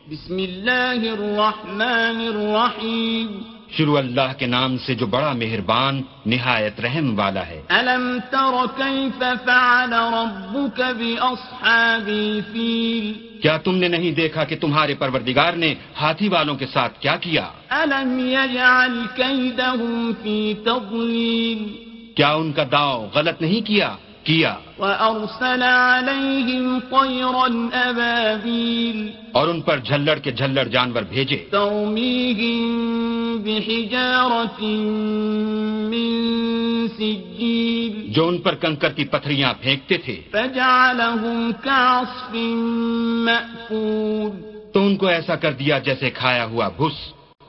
बिस्मिल्लाहिर्रहमानिर्रहीम। शुरू अल्लाह के नाम से जो बड़ा मेहरबान निहायत रहम वाला है। अलम तर कैफ फ़अल रब्बुक बिअस्हाबिल फील। क्या तुमने नहीं देखा कि तुम्हारे परवरदिगार ने हाथी वालों के साथ क्या किया? अलम यजअल कैदहुम फी तज़लील। क्या उनका दाव गलत नहीं किया? वअरसल अलैहिम तयरन अबाबील। और उन पर झल्लड़ के झल्लड़ जानवर भेजे। तरमीहिम बिहिजारतिन मिन सिज्जील। जो उन पर कंकर की पत्थरियां फेंकते थे। फजअलहुम कअस्फिन मअकूल। तो उनको ऐसा कर दिया जैसे खाया हुआ भुस।